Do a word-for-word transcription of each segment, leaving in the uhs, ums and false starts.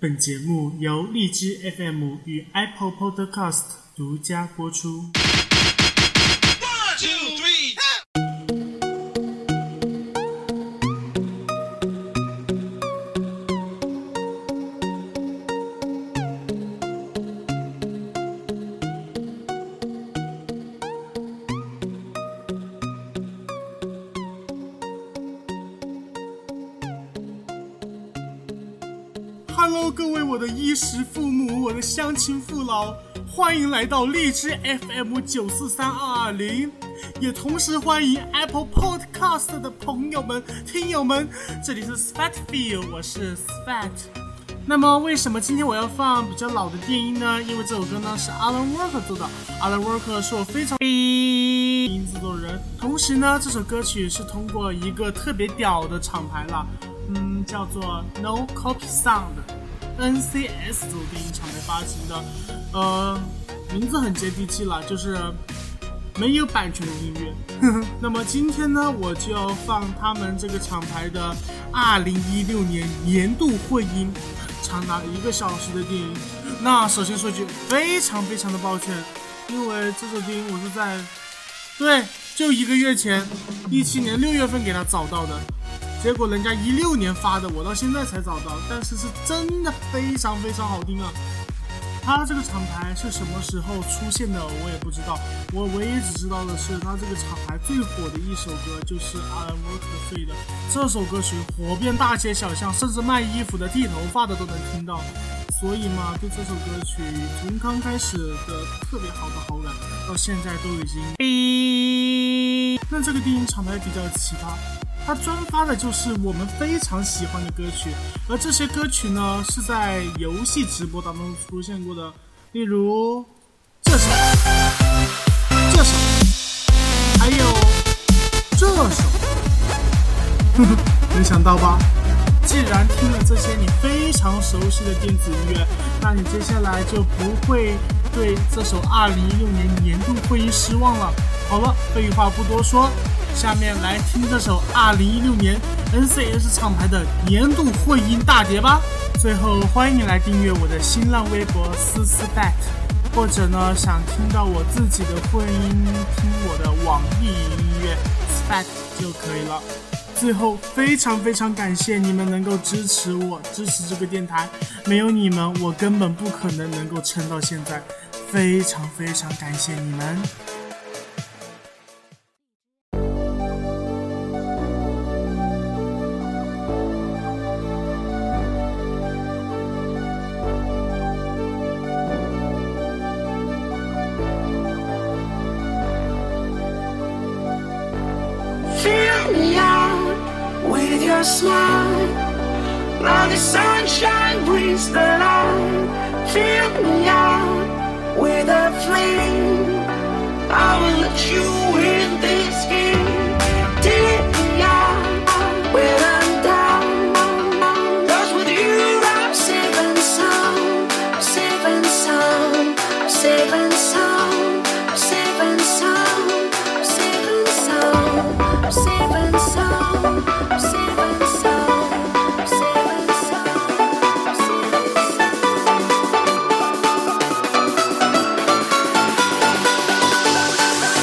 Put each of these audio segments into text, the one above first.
本节目由荔枝 F M 与 Apple Podcast 独家播出。 One, two, three, Hello， 各位我的衣食父母，我的乡亲父老，欢迎来到荔枝 F M 九四三二二零，也同时欢迎 Apple Podcast 的朋友们、听友们。这里是 Sfatfield， 我是 Sfat。那么为什么今天我要放比较老的电音呢？因为这首歌呢是 Alan Walker 做的 ，Alan Walker 是我非常音制作人。同时呢，这首歌曲是通过一个特别屌的厂牌了。嗯，叫做 No Copy Sound N C S 这种电影厂牌发行的，呃，名字很接地气了，就是没有版权的音乐。那么今天呢，我就要放他们这个厂牌的二零一六年年度混音，长达一个小时的电影。那首先说句非常非常的抱歉，因为这首电影我是在对就一个月前，一七年六月份给他找到的。结果人家一六年发的，我到现在才找到，但是是真的非常非常好听啊！他这个厂牌是什么时候出现的，我也不知道。我唯一只知道的是，他这个厂牌最火的一首歌就是 Alan Walker 做的这首歌曲，火遍大街小巷，甚至卖衣服的、剃头发的都能听到。所以嘛，对这首歌曲从刚开始的特别好的好感，到现在都已经。那这个电影厂牌比较奇葩。他专发的就是我们非常喜欢的歌曲，而这些歌曲呢是在游戏直播当中出现过的，例如这首、这首，还有这首。没想到吧？既然听了这些你非常熟悉的电子音乐，那你接下来就不会对这首二零一六年年度混音失望了。好了，废话不多说，下面来听这首二零一六年 N C S 厂牌的年度混音大碟吧。最后欢迎你来订阅我的新浪微博思思 bat， 或者呢想听到我自己的混音，听我的网易音乐 spat 就可以了。最后非常非常感谢你们能够支持我，支持这个电台，没有你们我根本不可能能够撑到现在，非常非常感谢你们。 Your smile, now the sunshine brings the light. Fill me out with a flame. I will let you in this game. Take me out when I'm down. 'Cause with you I'm safe and sound. I'm safe and sound. I'm safe and sound. I'm safe and sound. I'm safe and sound. I'm safe and sound. I'm safe and sound. I'm safe and sound. I'm safe and sound.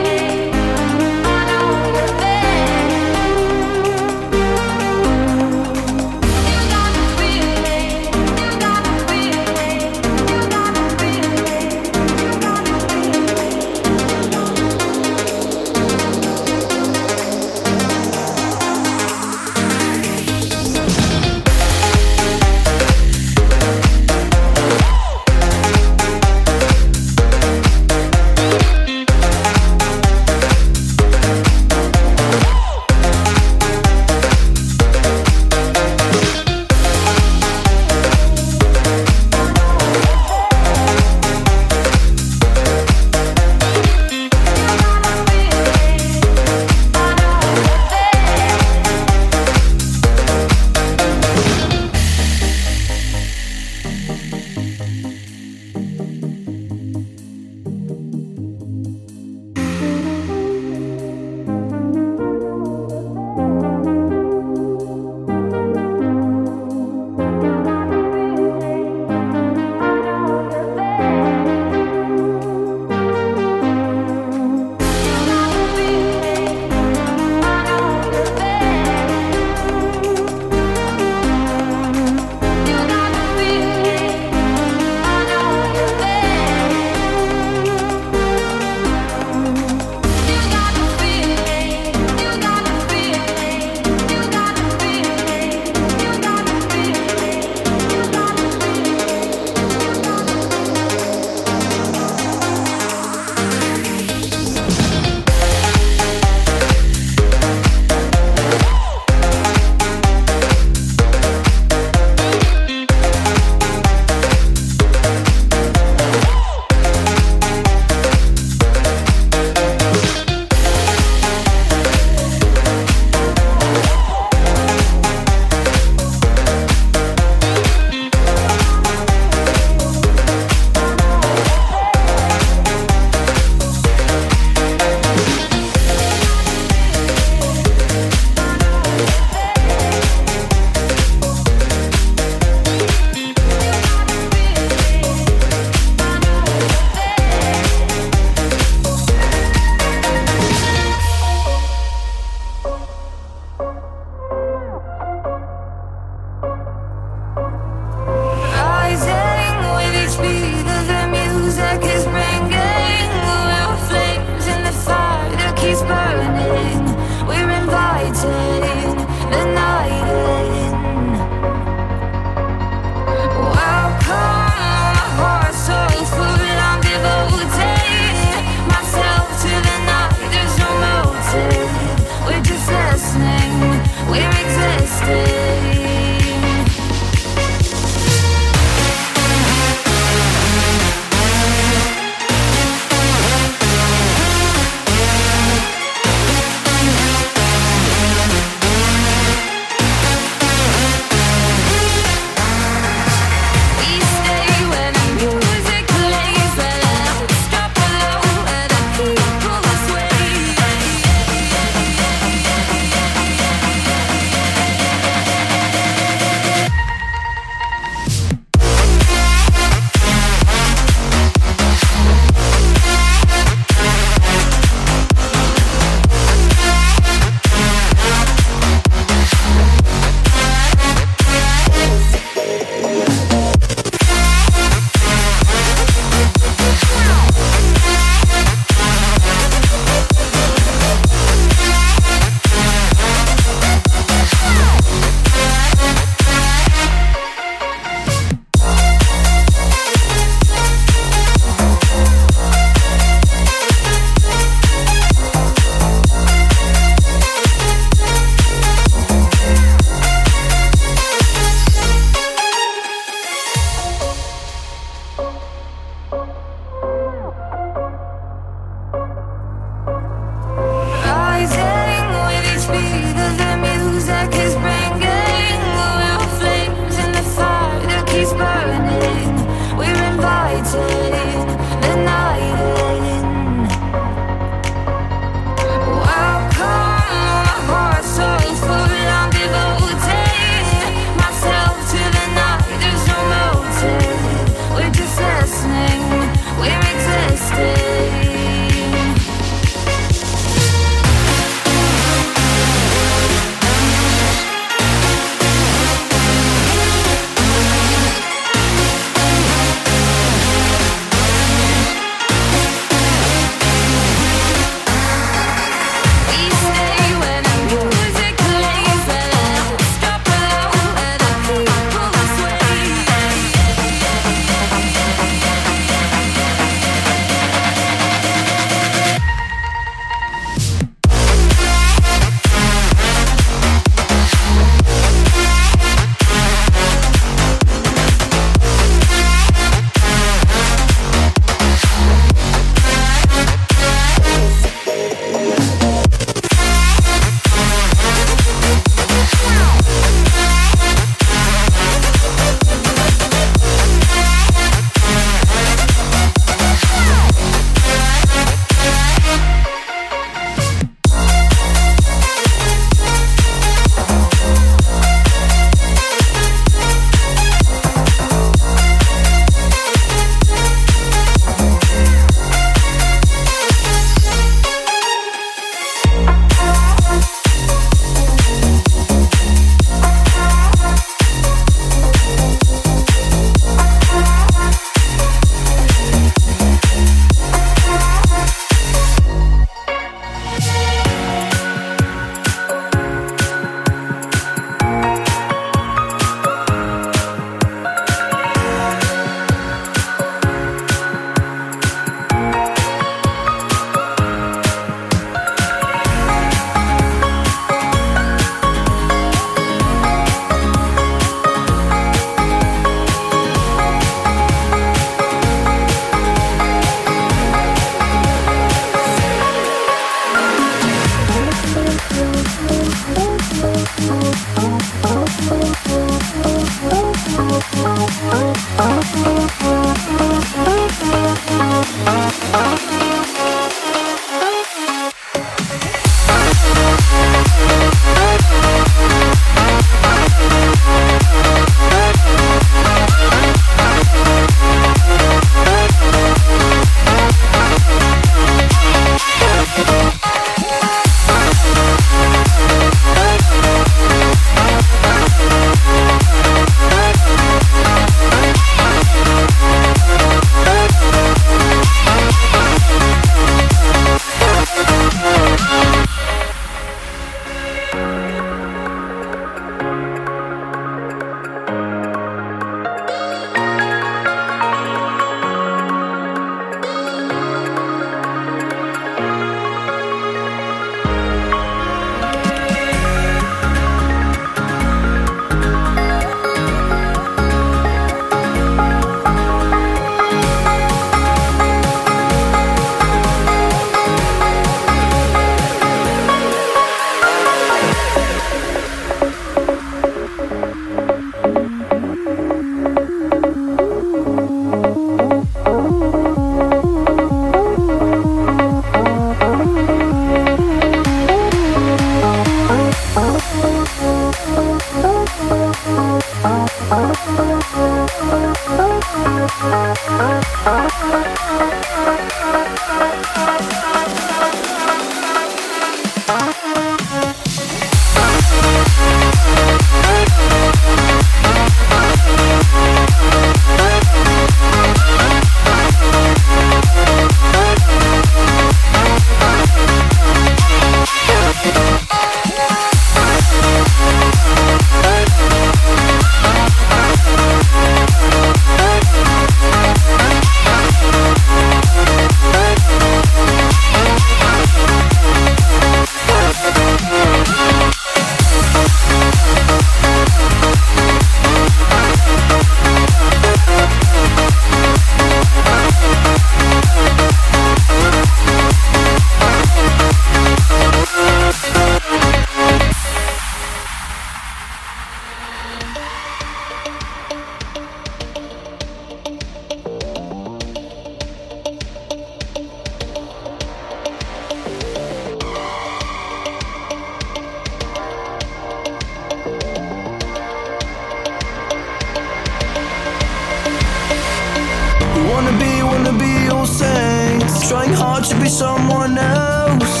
be someone else.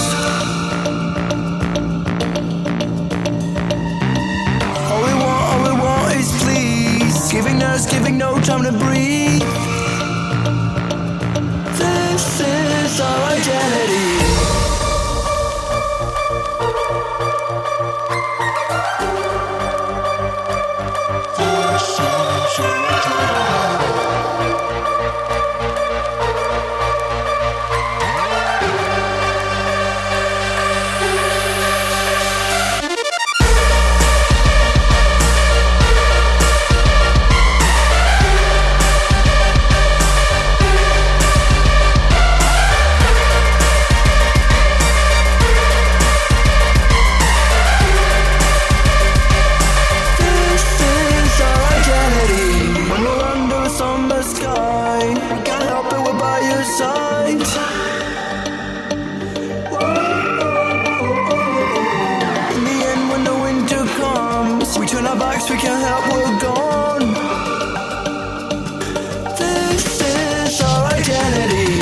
All we want, all we want is please. Giving us, giving no time to breathe. This is our identity. We can't help, we're gone. This is our identity.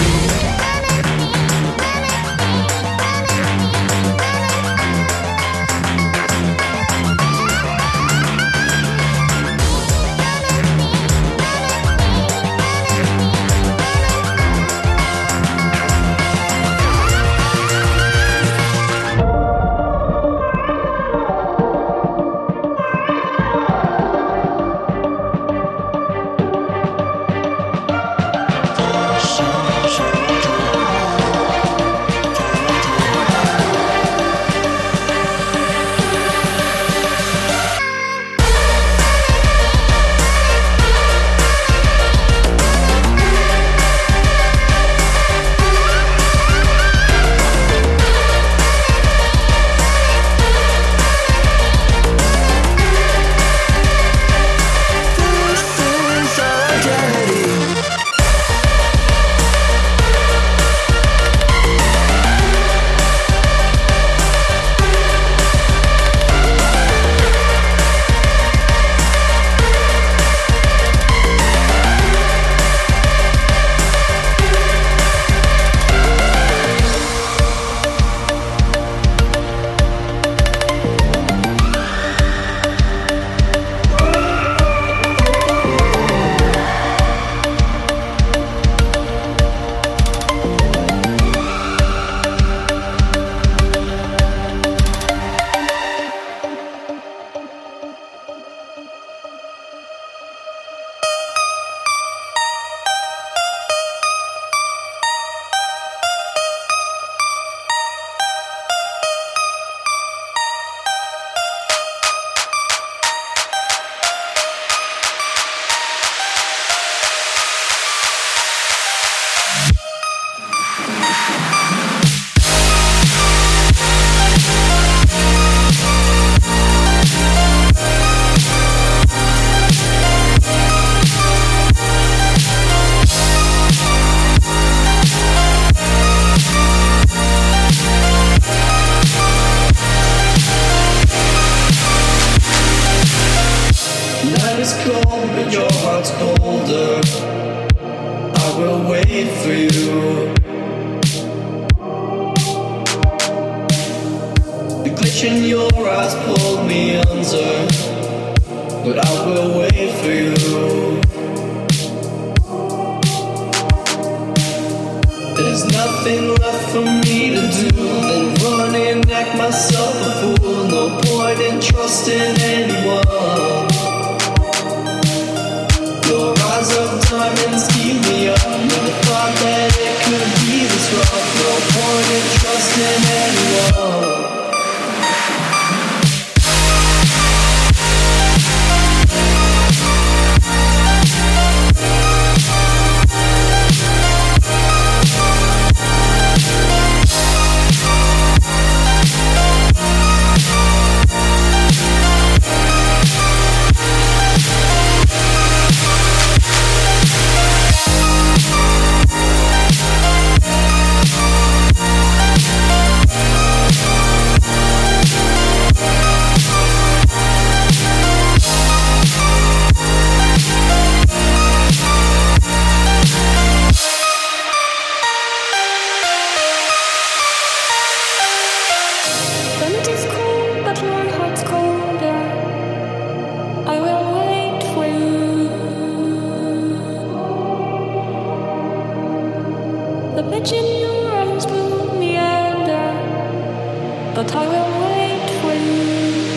but I will wait for you.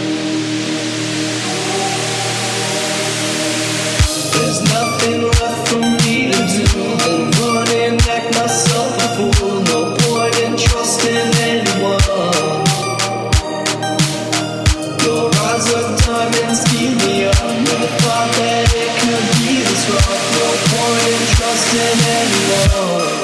There's nothing left for me to do than run and act myself a fool. No point in trusting anyone. Your eyes are diamonds, keep me up. Never thought that it could be this rough. No point in trusting anyone.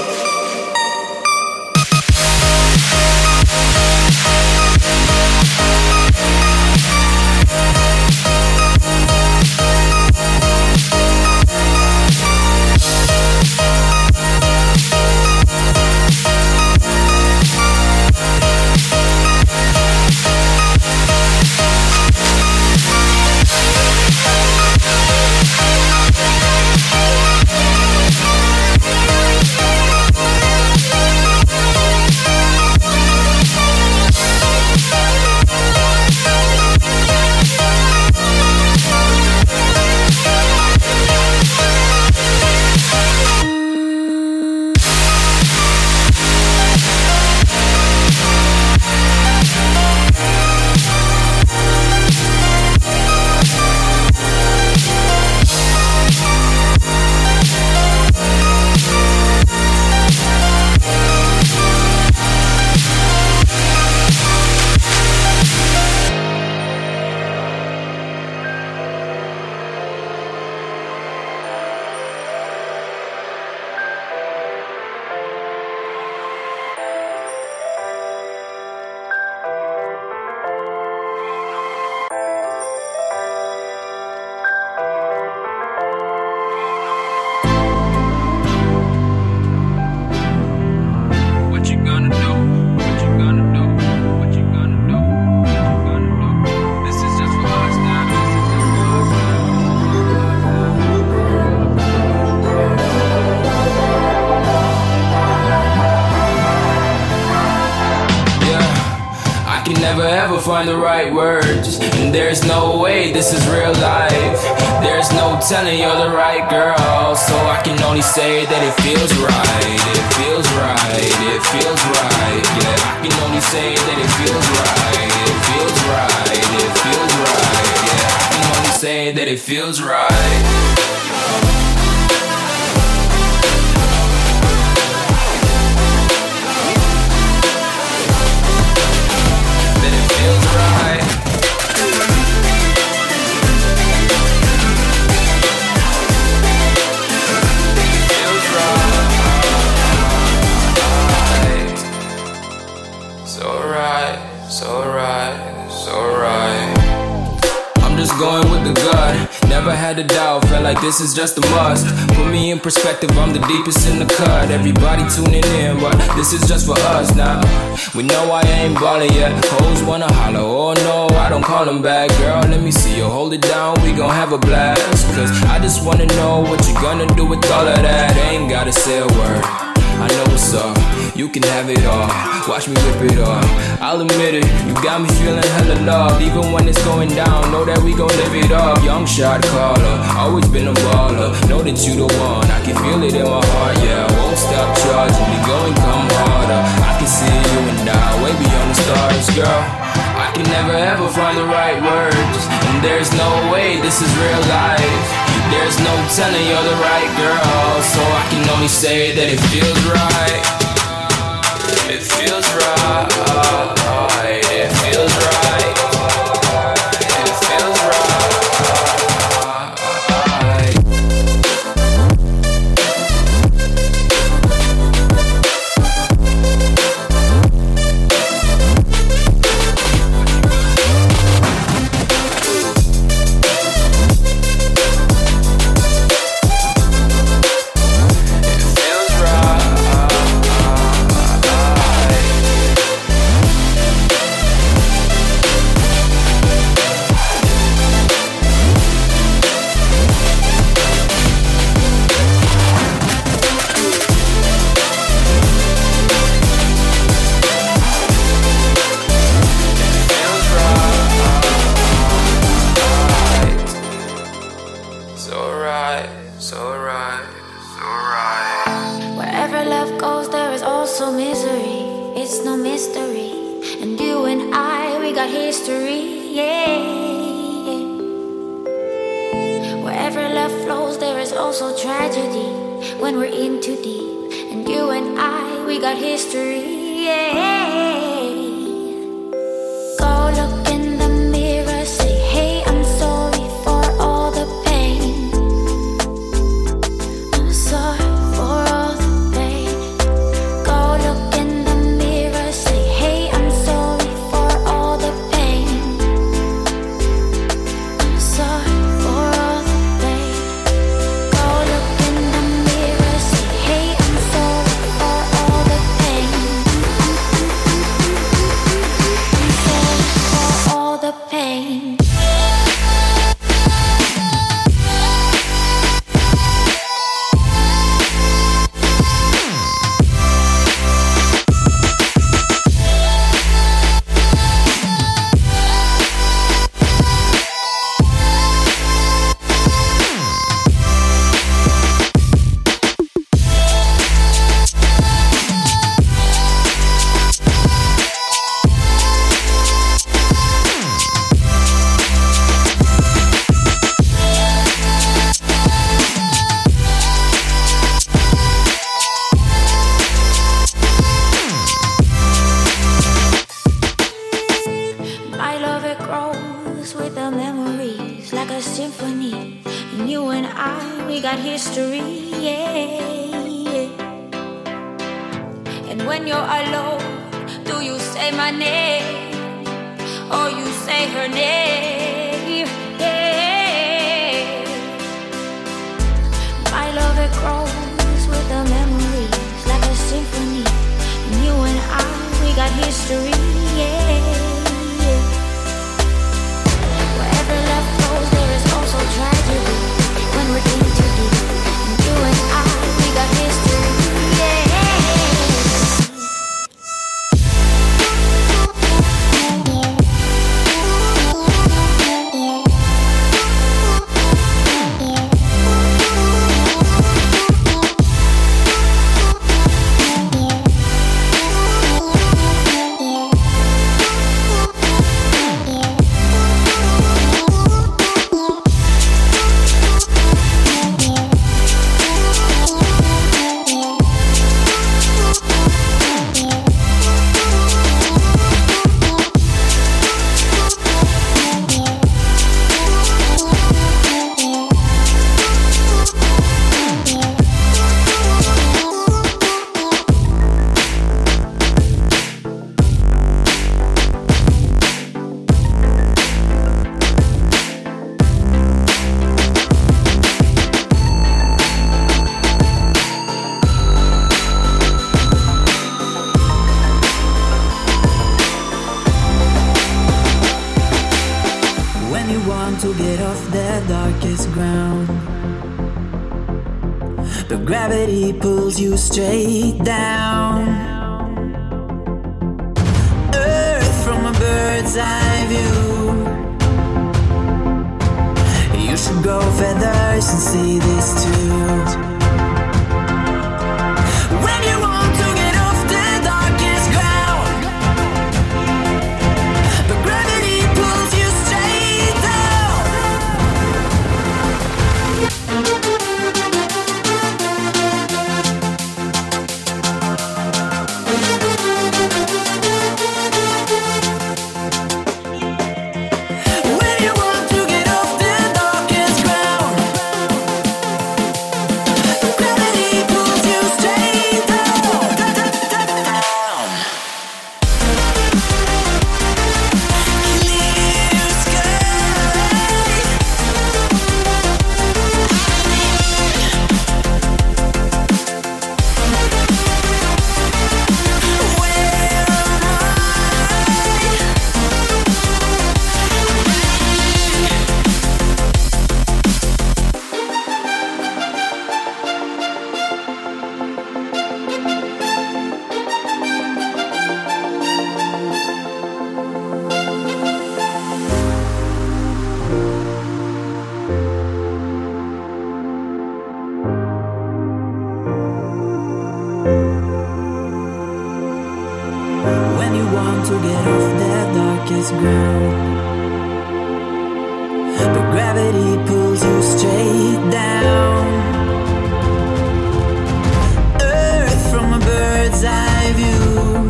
Find the right words, and there's no way this is real life. There's no telling you're the right girl, so I can only say that it feels right. It feels right, it feels right. Yeah, I can only say that it feels right. It feels right, it feels right. Yeah, I can only say that it feels right. Going with the gut, never had a doubt, felt like this is just a must. Put me in perspective, I'm the deepest in the cut. Everybody tuning in, but this is just for us now. We know I ain't ballin' yet, hoes wanna holler, oh no, I don't call them back. Girl, let me see you hold it down, we gon' have a blast. Cause I just wanna know what you gonna do with all of that. Ain't gotta say a word, I know what's up, you can have it all. Watch me whip it up, I'll admit it, you got me feeling hella loved. Even when it's going down, know that we gon' live it up. Young shot caller, always been a baller. Know that you the one, I can feel it in my heart. Yeah, I won't stop charging, we go and come harder. I can see you and I, way beyond the stars, girl. I can never ever find the right words, and there's no way this is real life. There's no telling you're the right girl, so I can only say that it feels right. It feels right, it feels right, it feels right. got history, yeah. Wherever love flows, there is also tragedy when we're in too deep. And you and I, we got history, yeah. Go look in the mirror, say, hey, I'm sorry for all the pain. I'm sorry for all the pain. Go look in the mirror, say, hey, I'm sorry for all the pain. I'm sorry for all the pain. Go look in the mirror, say, hey, I'm sorry for all the pain. I'm sorry for all the pain. My love, it grows with the memories like a symphony. And you and I, we got history, yeah. And when you're alone, do you say my name or you say her name? Yeah. My love, it grows with the memories like a symphony. And you and I, we got history, yeah. Wherever love flows, there is also tragedy when we're in too deep. And you and I, we got history, yeah. When you want to get off the darkest ground, the gravity pulls you straight down. Earth from a bird's eye view. You should grow feathers and see this too. When you want to get off the darkest ground, the gravity pulls you straight down. When you want to get off the darkest ground, darkest ground. But gravity pulls you straight down. Earth from a bird's eye view.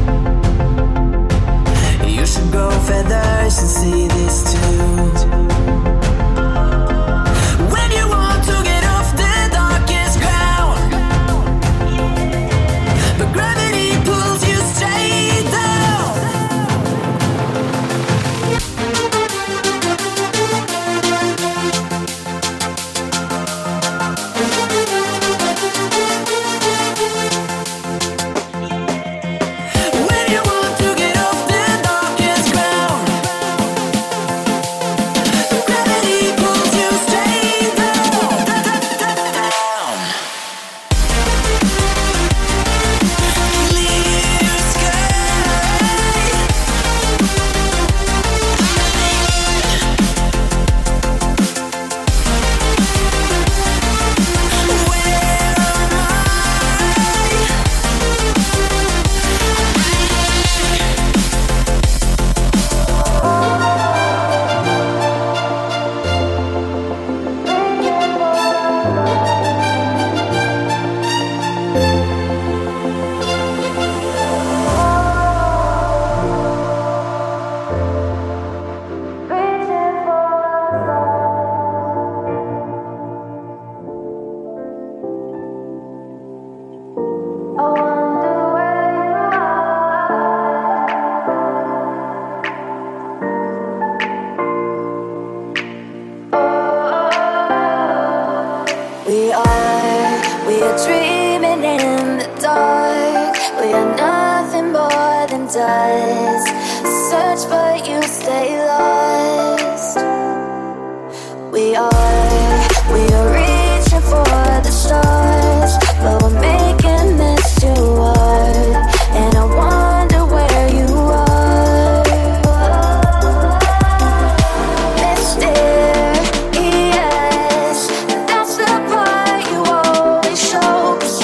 You should grow feathers and see this too. When you want to get off the darkest ground, but gravity pulls you straight down. Mysterious, that's the part you always show.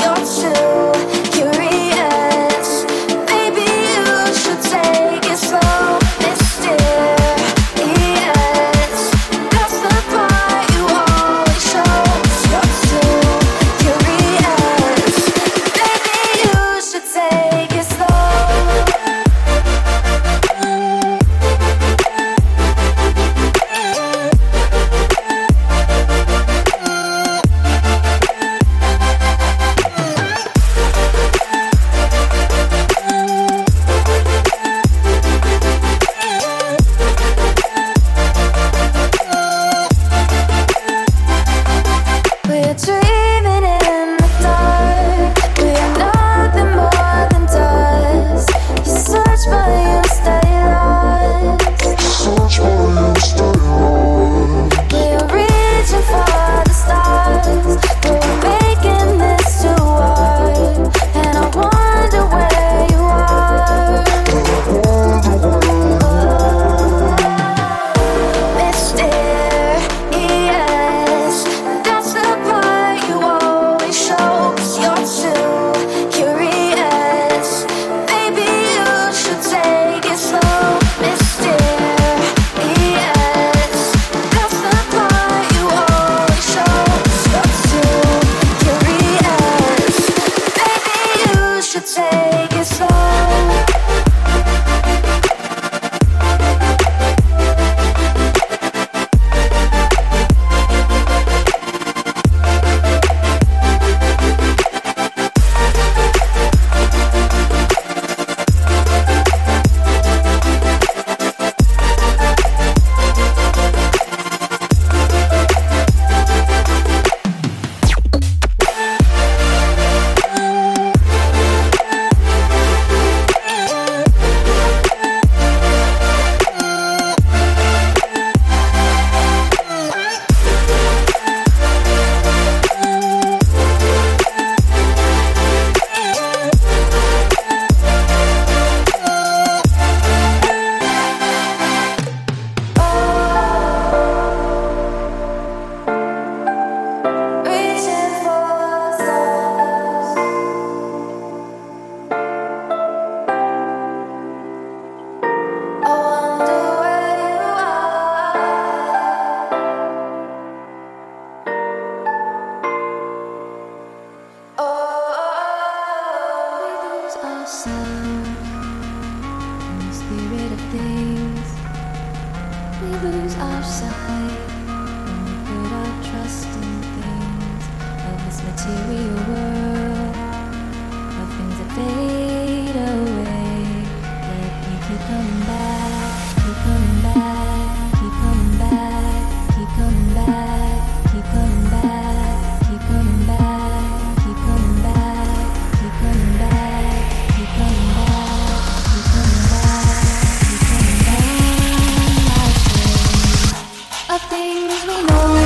lose our sight when we put our trust in things of this material world, of things that fade away. Yet you keep coming back, keep coming back, keep coming back, keep coming back, keep coming back, keep coming back, keep coming back, keep coming back, keep coming back, keep coming back, keep coming back. Of things we know.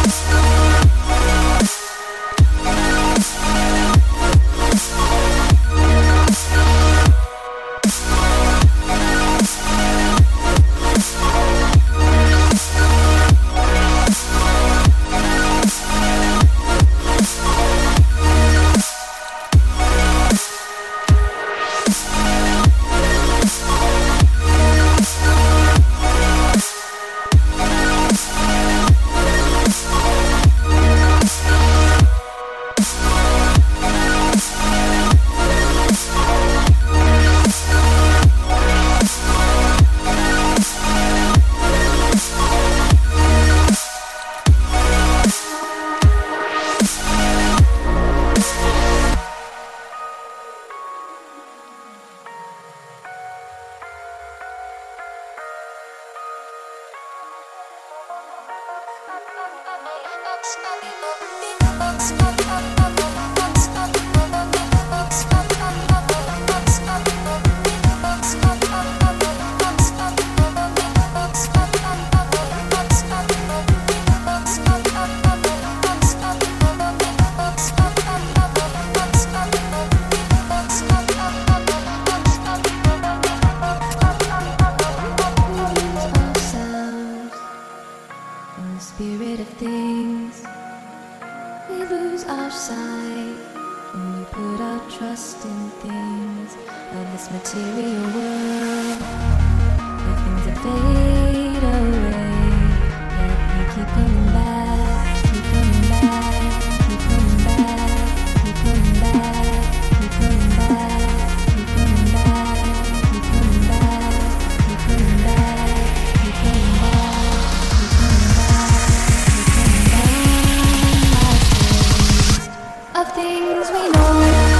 Spirit of things, we lose our sight when we put our trust in things of this material world, the things that fade away. Yet we keep coming back, keep coming back, keep coming back, keep coming back, keep coming back, keep coming back, keep coming back, keep coming back, keep coming back, keep coming back. Of things we know.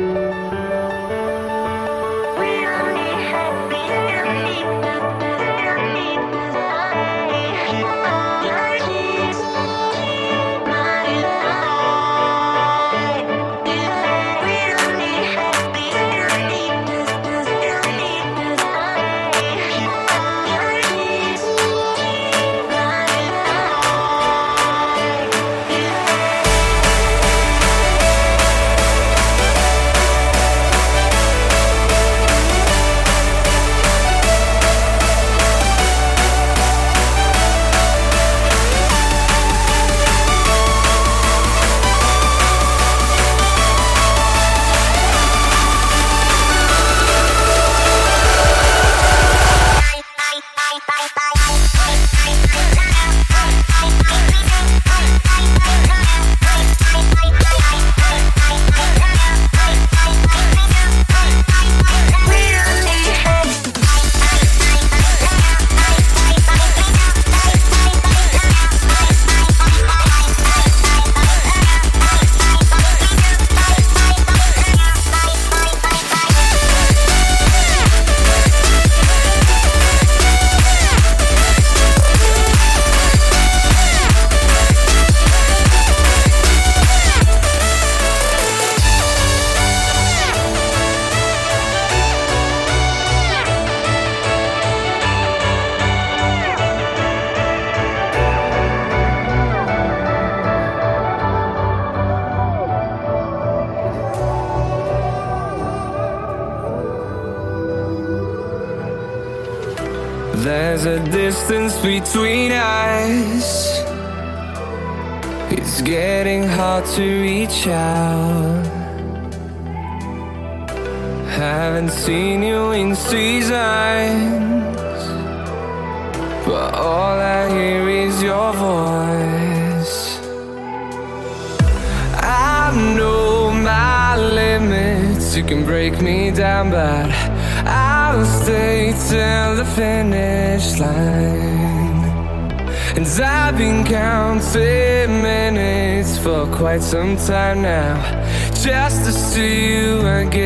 There's a distance between us. It's getting hard to reach out. Haven't seen you in seasons, but all I hear is your voice. I know my limits, you can break me down, but I'll stay till the finish line. And I've been counting minutes for quite some time now, just to see you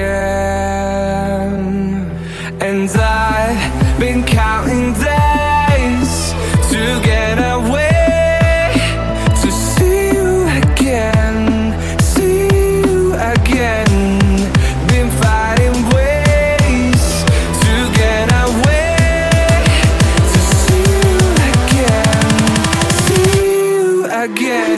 again. And I've been counting days to get away, to see you again, see you again. Been fighting ways to get away, to see you again, see you again.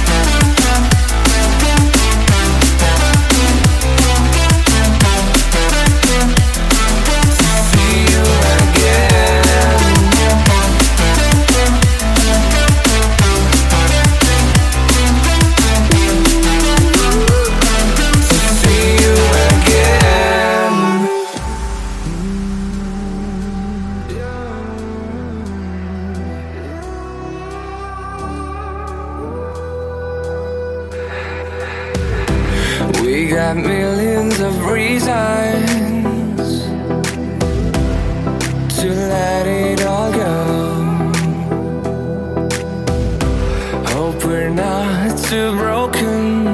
We got millions of reasons to let it all go. Hope we're not too broken.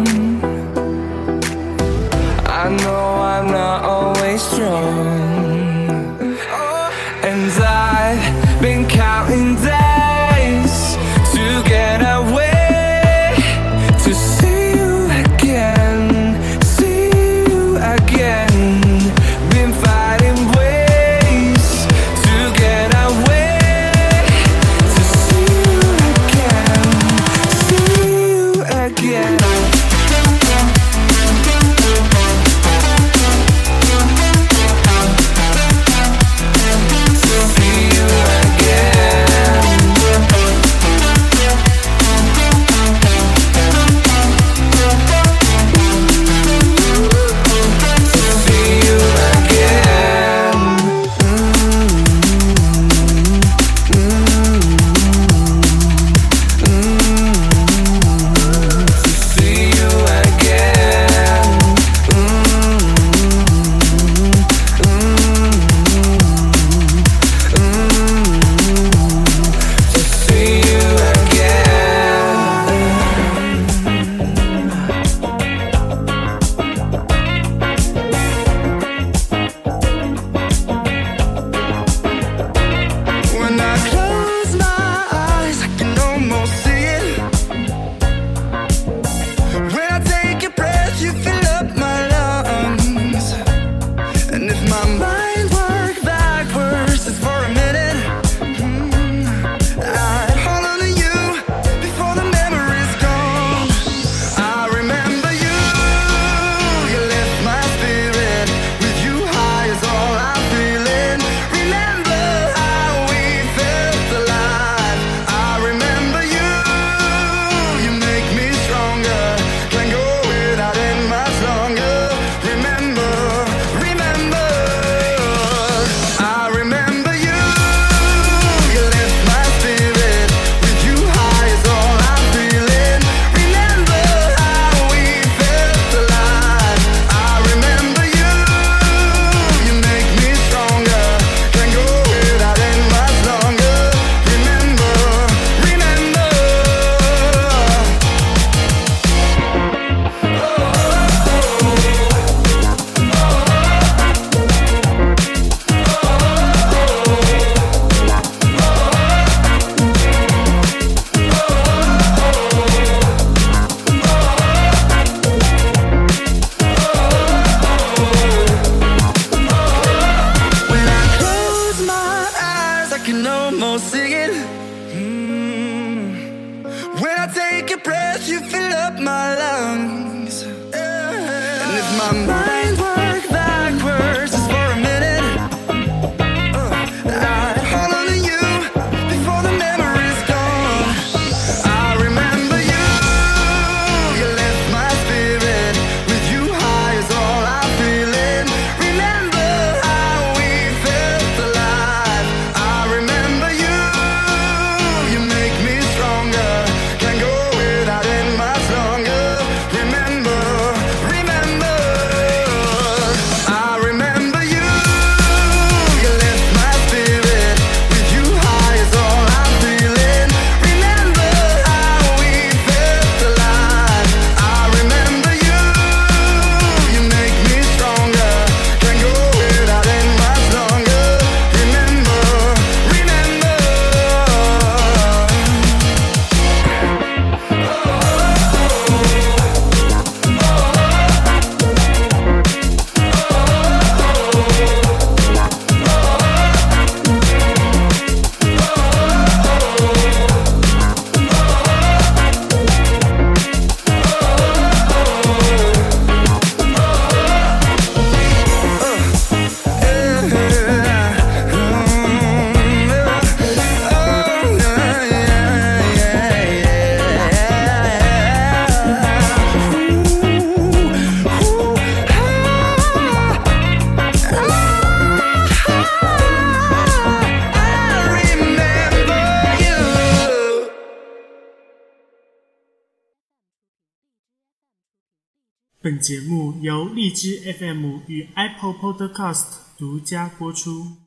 I know I'm not always strong, and I've been counting days to get away, to see you again, see you again. Been fighting ways to get away, to see you again, see you again. 本节目由荔枝 F M 与 Apple Podcast 独家播出。